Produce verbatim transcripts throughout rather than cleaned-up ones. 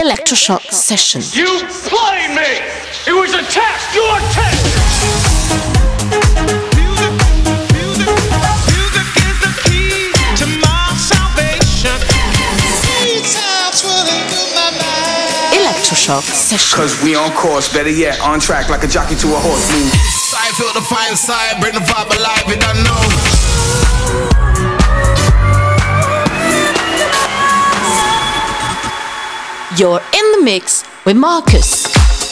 Electroshock Session. You played me! It was a test! Your test! Electroshock Session. Cause we on course, better yet, on track like a jockey to a horse. Move. I feel the fire side, bring the vibe alive, you don't know. You're in the mix with Marcus.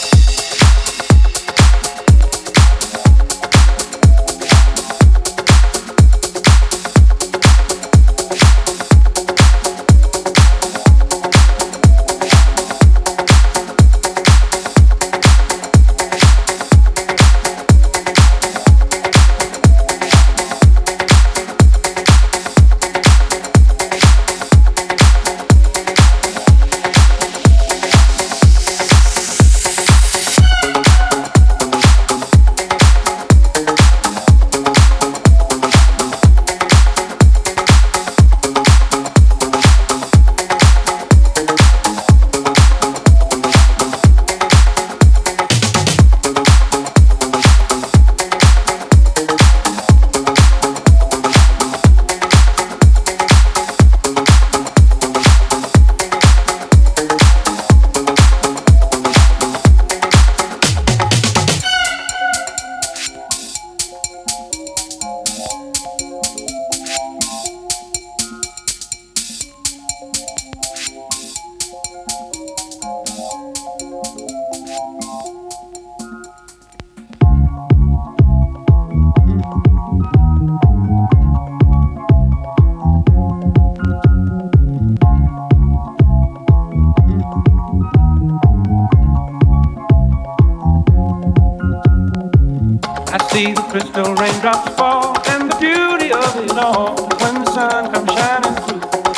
See the crystal raindrops fall, and the beauty of it all when the sun comes shining through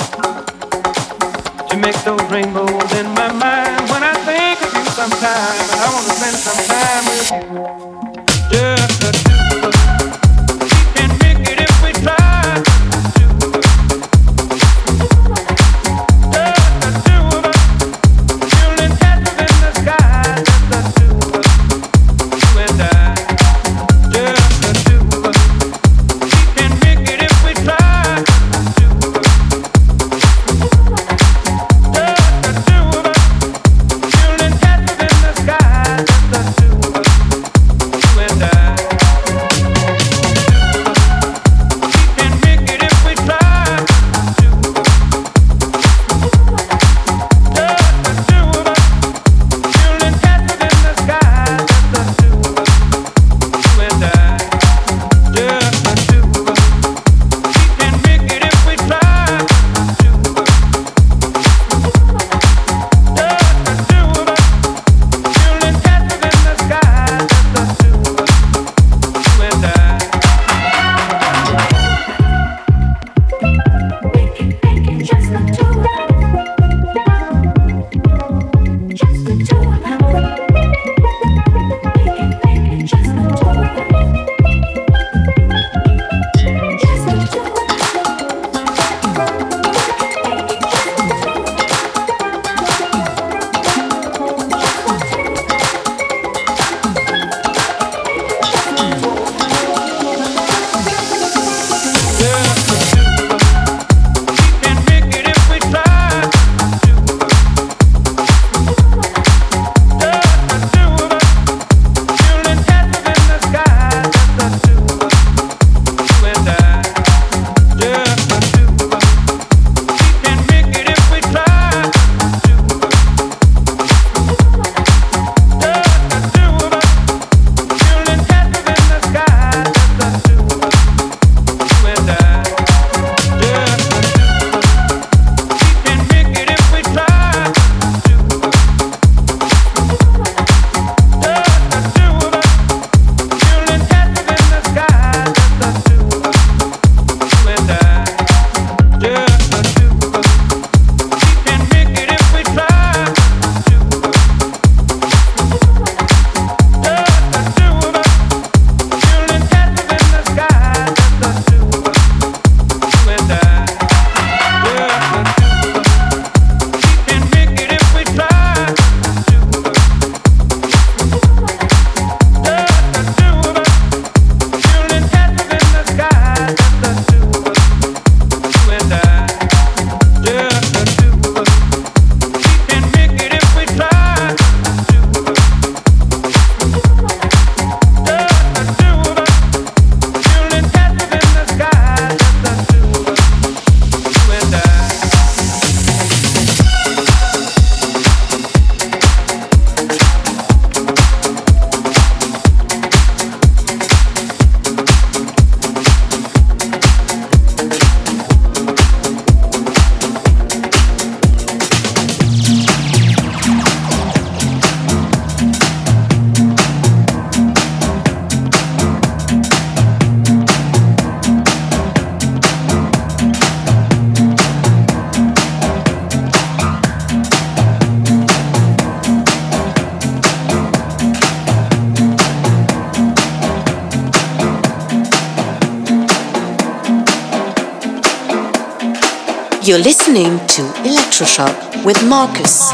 to make those rainbows in my mind. When I think of you sometime, and I want to spend some time with you, just the two of us. We can make it if we try. Just the two of us, feeling castles in the sky. Just the two of us, you and I. You're listening to Electroshock with Marcus.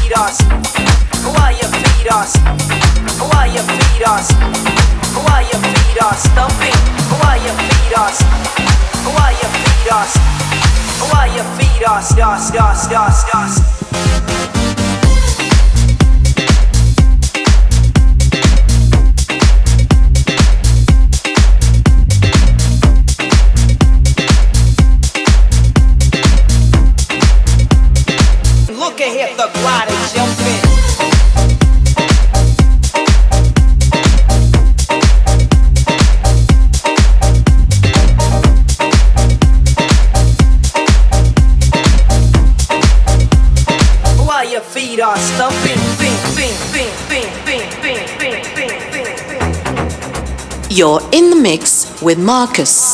feed us? Why you feed us? Why you feed us? Why you feed us? Stumping. Why you feed us? Why you feed us? Why you feed us? Us, us, us, us. Look at hit the glider jumping. Why your feet are stumping? Bing, bing, bing, bing, bing, bing, bing, bing, bing, bing. You're in the mix with Marcus.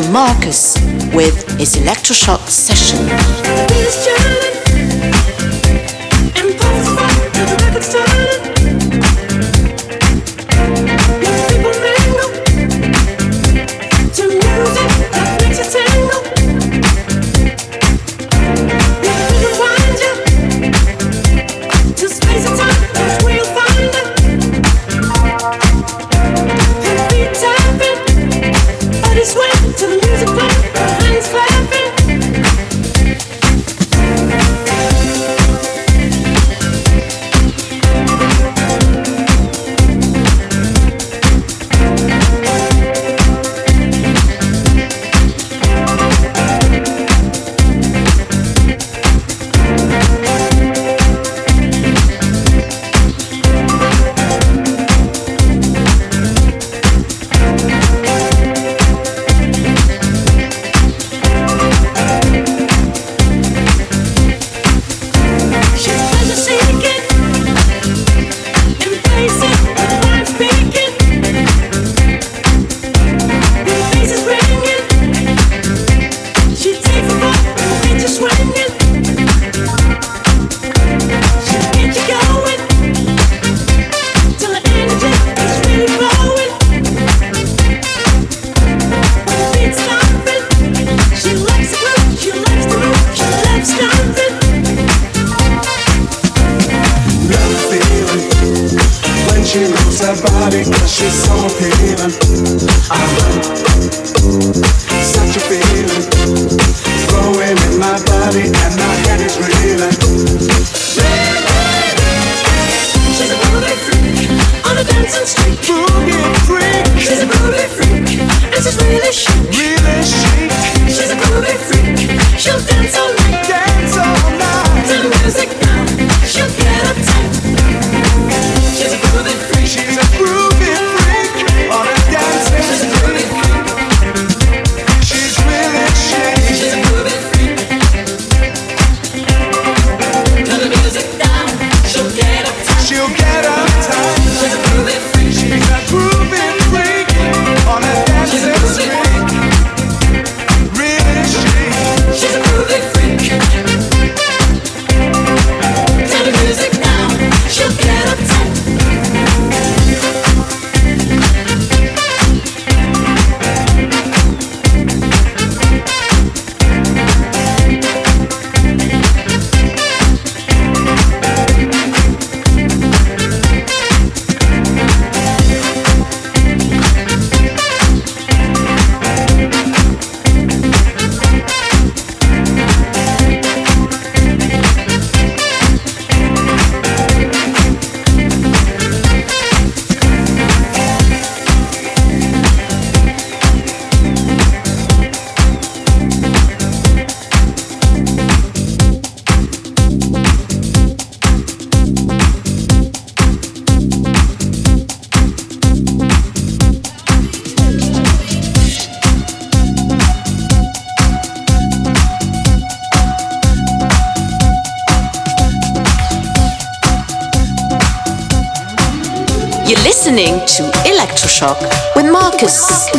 Marcus with his electroshock session. You're listening to Electroshock with Marcus.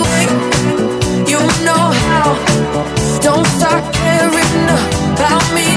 Don't start caring about me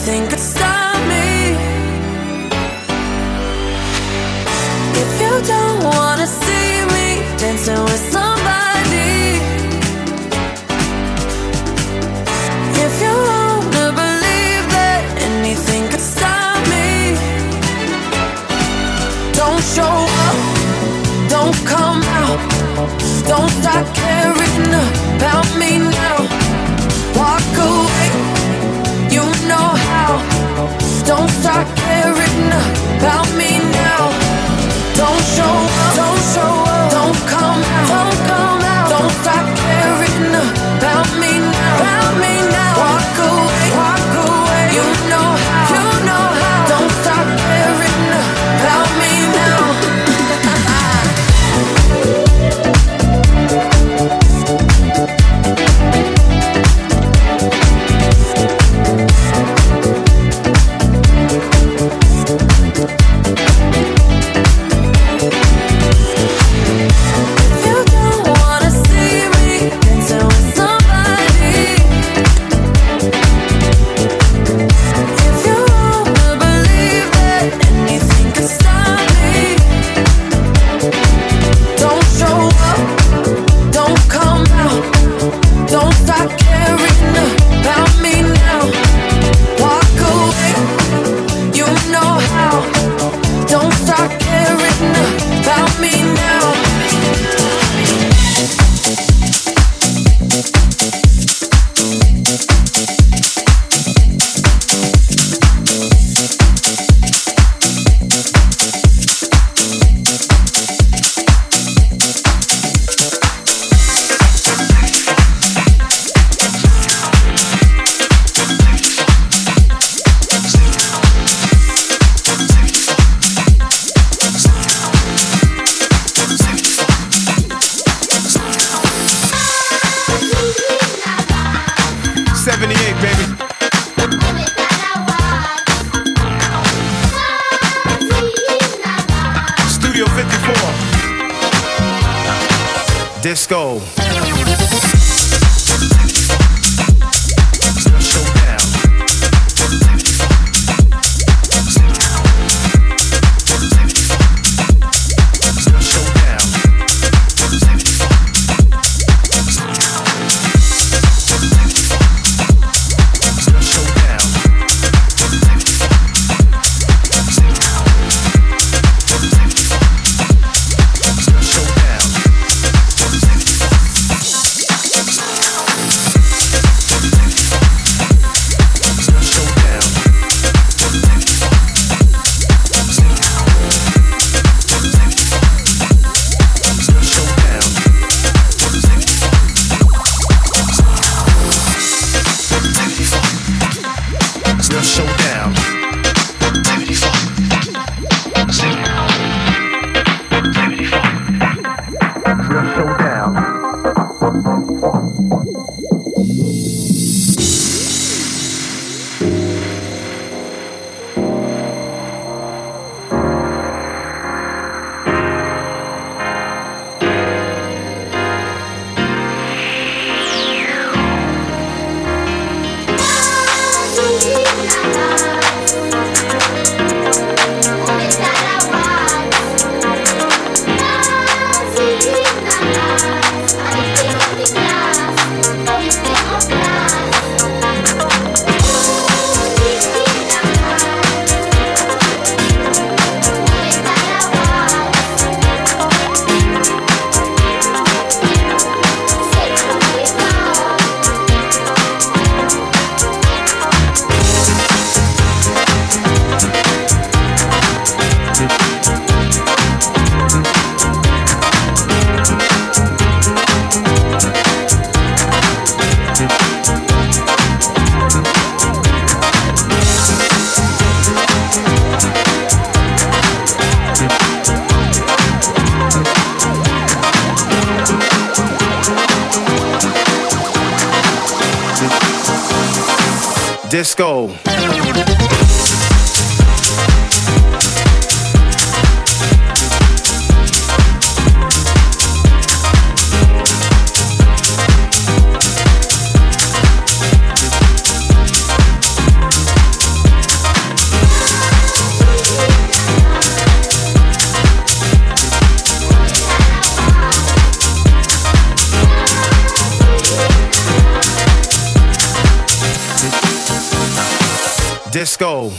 anything could stop me. If you don't wanna see me dancing with somebody, if you wanna believe that anything could stop me, don't show up, don't come out, don't start caring about me now. Walk away, you know how. Don't start caring about me now. Don't show up, don't show up, don't come out, don't come out. Don't start caring about me now, about me now. Walk away, walk away, you know how, you know how. Don't start caring about me now. Disco. Disco. Disco.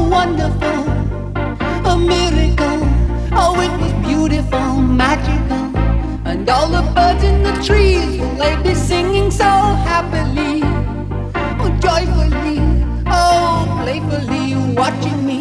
wonderful, a miracle. Oh, it was beautiful, magical. And all the birds in the trees, will they be singing so happily, oh, joyfully, oh, playfully, watching me.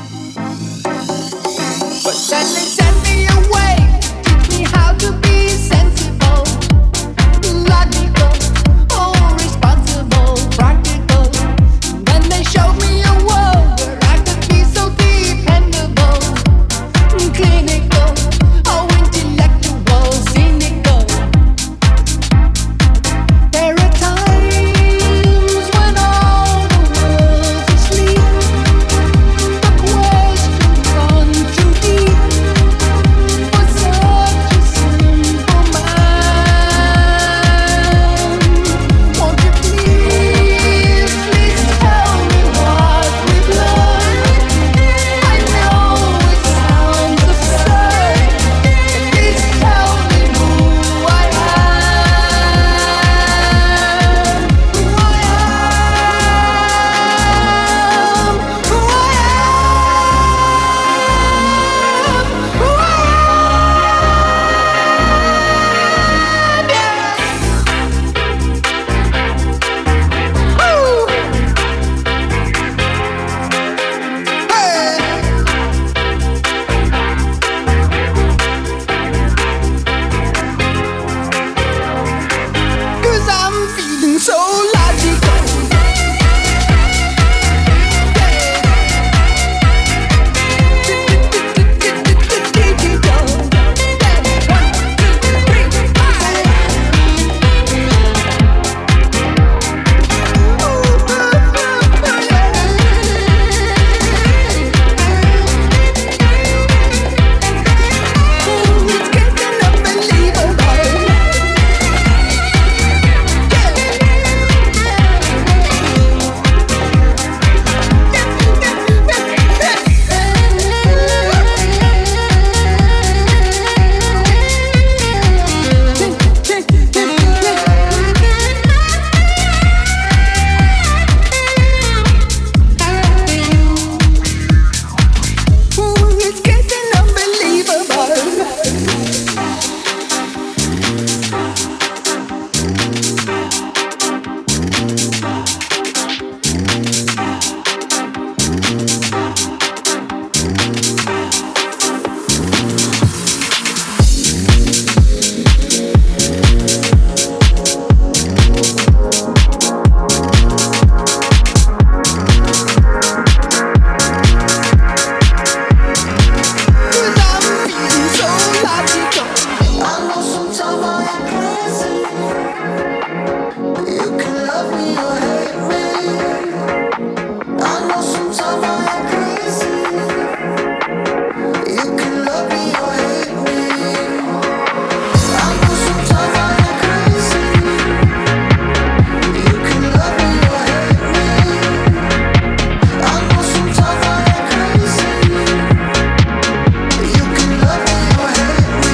But then they sent me away, teach me how to be sensible, logical, oh, responsible, practical. And then they showed me a world where I could be so dependable, clinical, oh, intellectual, cynical. There are times when all the world's asleep, the questions run too deep for such a simple mind. Won't you please, please tell me what we've learned? I know it sounds absurd, but please tell me who I am, who I am, who I am, who I am, yeah. Woo! Hey! 'Cause I'm feeling so logical. It's getting unbelievable. It's getting unbelievable. Cause I'm feeling so logical. I know sometimes I am crazy. You can love me or hate me. I know sometimes I am crazy. You can love me or hate me. I know sometimes I am crazy. You can love me or hate me. I know sometimes I am crazy. You can love me or hate me.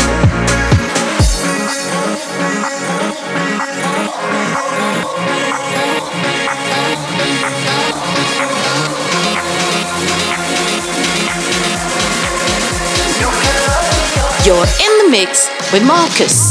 You're in the mix with Marcus.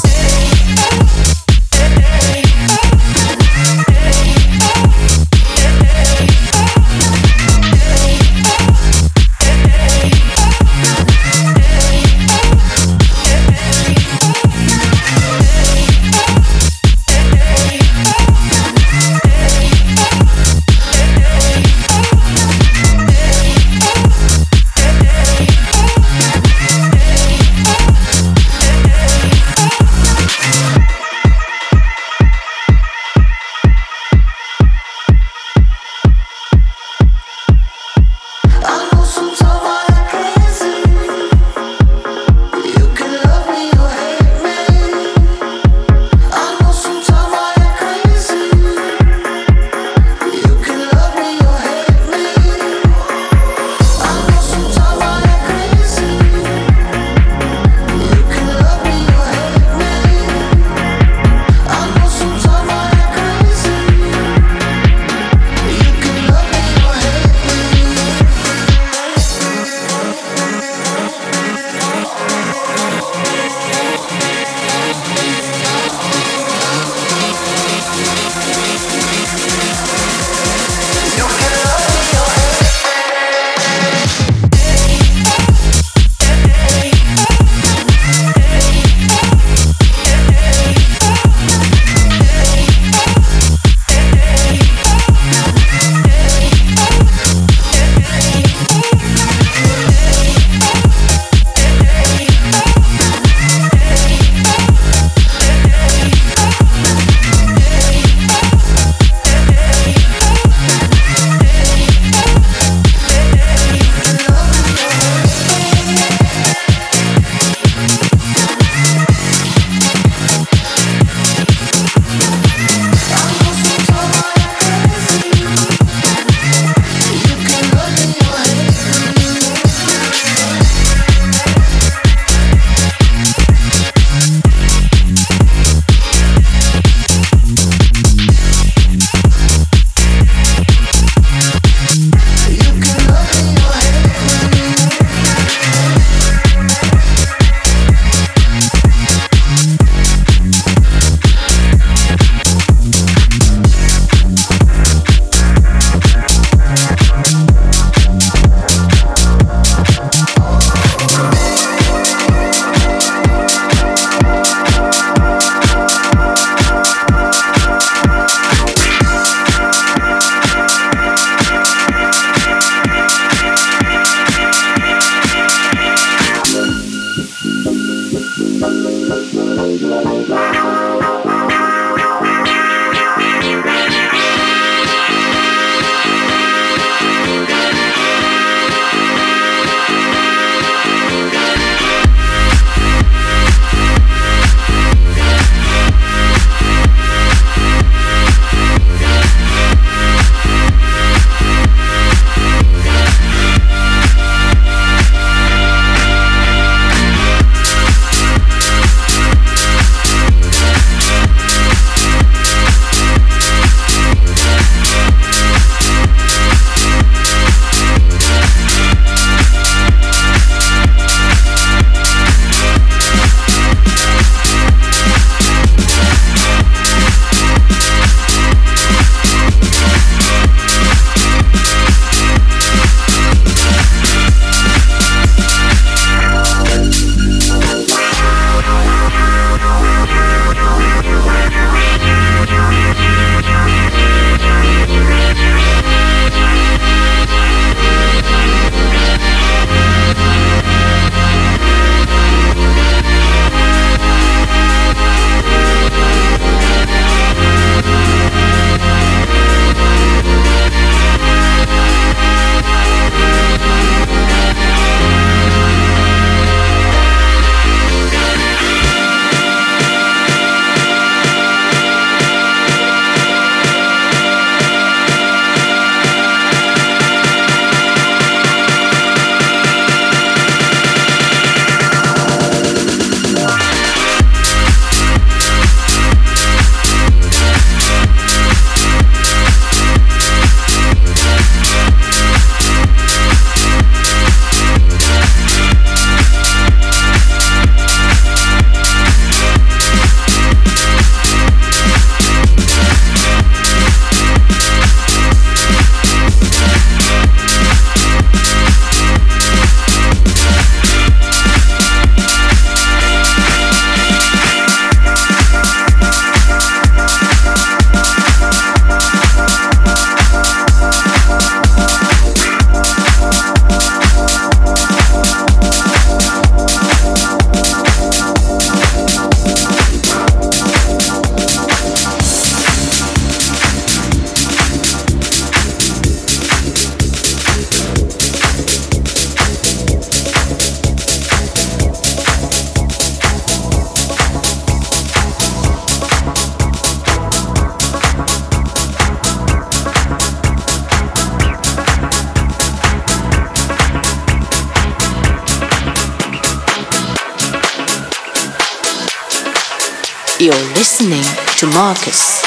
You're listening to Marcus.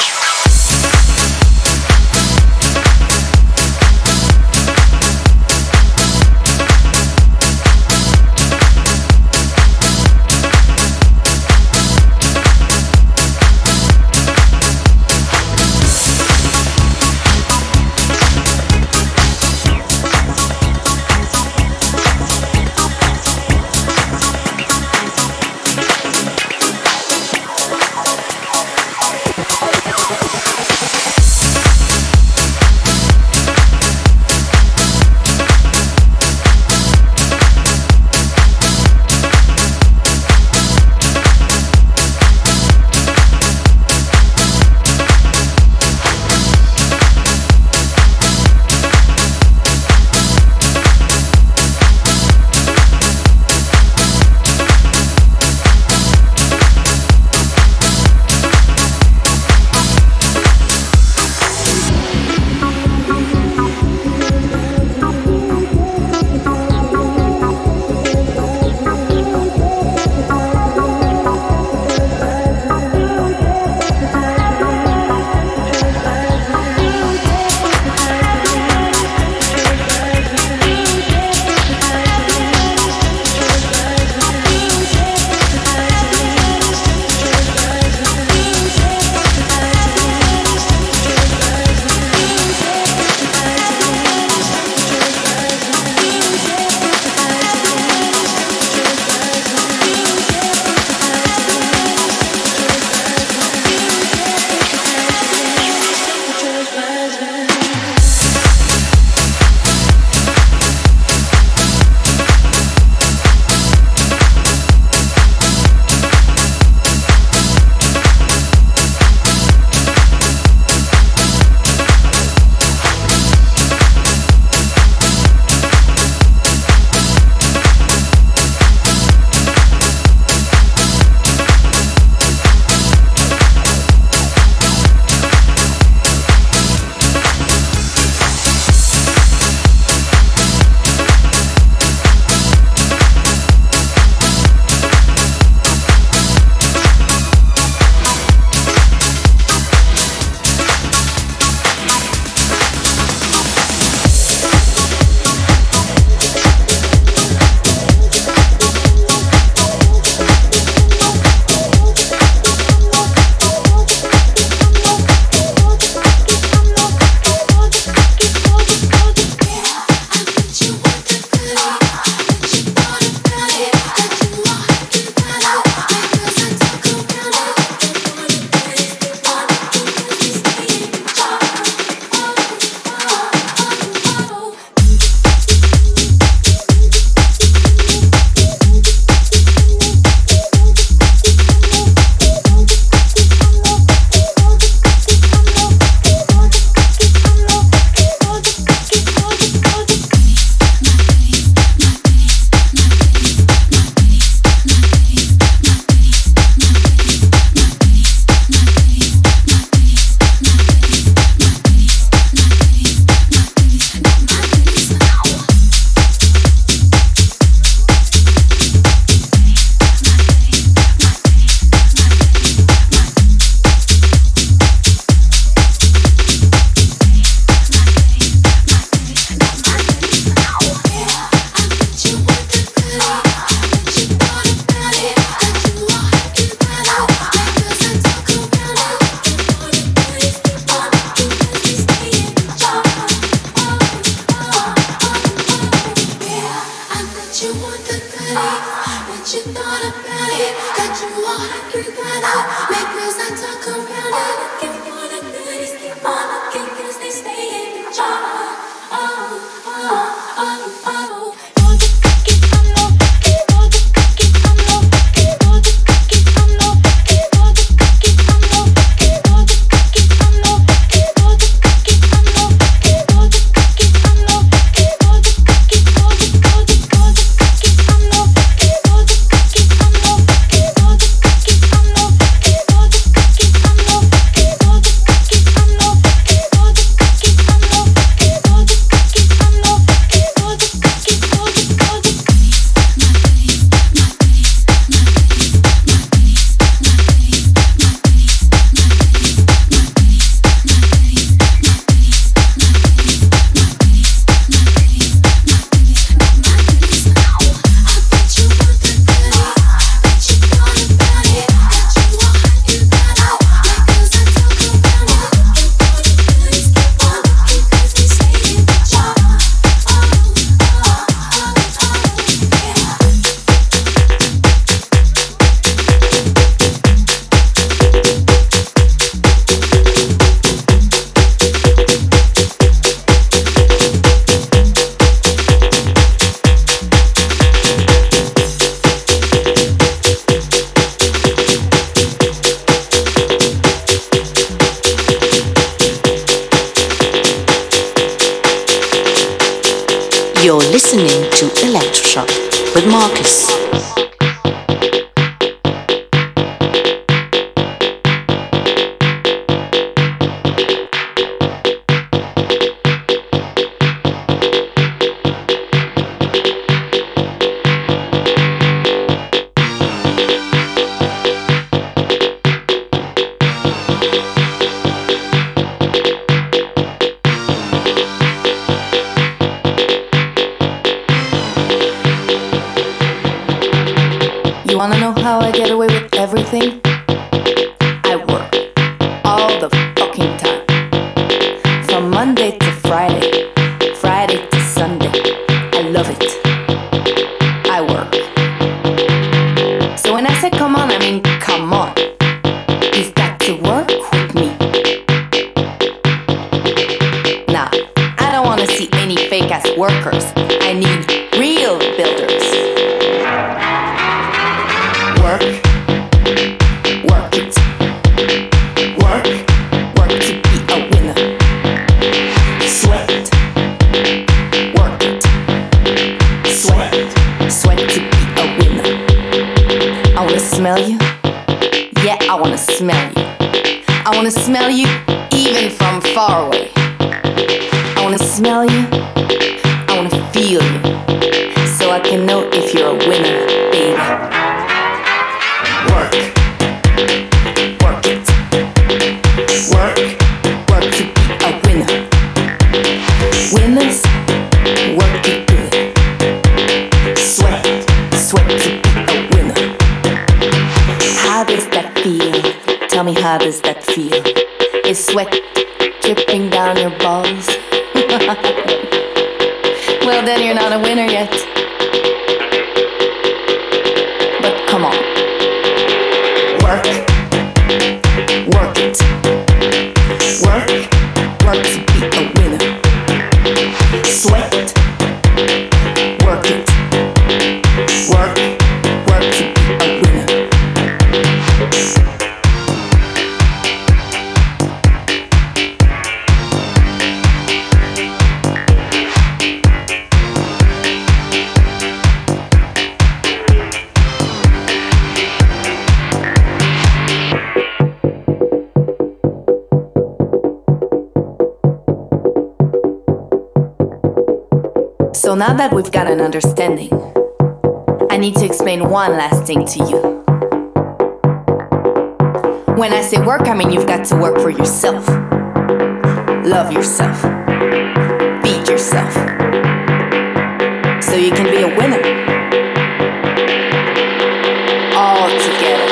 You're listening to Electroshock with Marcus. Wanna know how I get away with everything? I work all the fucking time. From Monday to Friday, Friday to Sunday. I love it. I work. So when I say come on, I mean come on. You've got to work with me. Nah, I don't wanna see any fake ass workers. I need real builders. Work, work it, work, work to be a winner. Sweat, work it, sweat, sweat to be a winner. I wanna smell you, yeah, I wanna smell you. I wanna smell you even from far away. I wanna smell you, I wanna feel you, so I can know if you're a winner, baby. Work, work it, work, work to be a winner. Winners, work it good. Sweat, sweat to be a winner. How does that feel? Tell me, how does that feel? Is sweat dripping down your balls? Well, then you're not a winner yet. But come on. Work, work it, work, work to be a winner. Sweat, work it, work, work to be a winner. So now that we've got an understanding, I need to explain one last thing to you. When I say work, I mean you've got to work for yourself. Love yourself. Feed yourself. So you can be a winner. All together.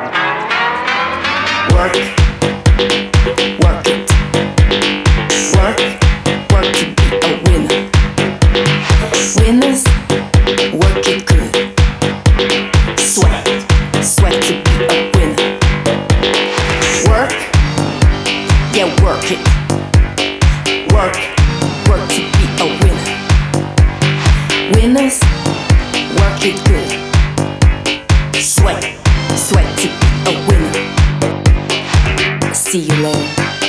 Work. Work it. Work. Work to be a winner. Winners, work it good. Sweat, sweat to be a winner. Work, yeah, work it. Work, work to be a winner. Winners, work it good. Sweat, sweat to be a winner. See you later.